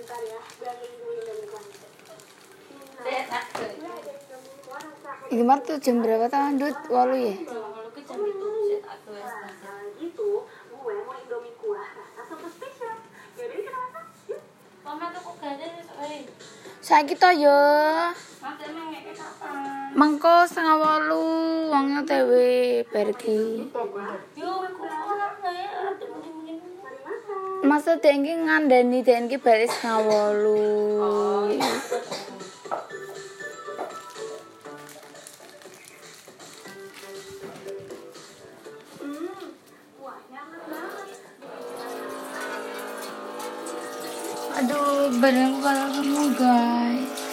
Bentar ya, biar dulu dari kualitas. Iki mah tuh jam berapa tahun Dut? 8 ya? Gitu, gue mau Indomie kuah rasa soto spesial. Yaudah kita masak, yuk. Mama tuh kok gak ada soalnya. Saiki to yo. Mas emang ngeke kapan? Mengko 7:30 wong OTW pergi. Yo, aku orang ya, temen-temen. Masa dengki ngandani dengki balik 7:30. Kuahnya enak banget. Aduh, badanku kalau kamu guys.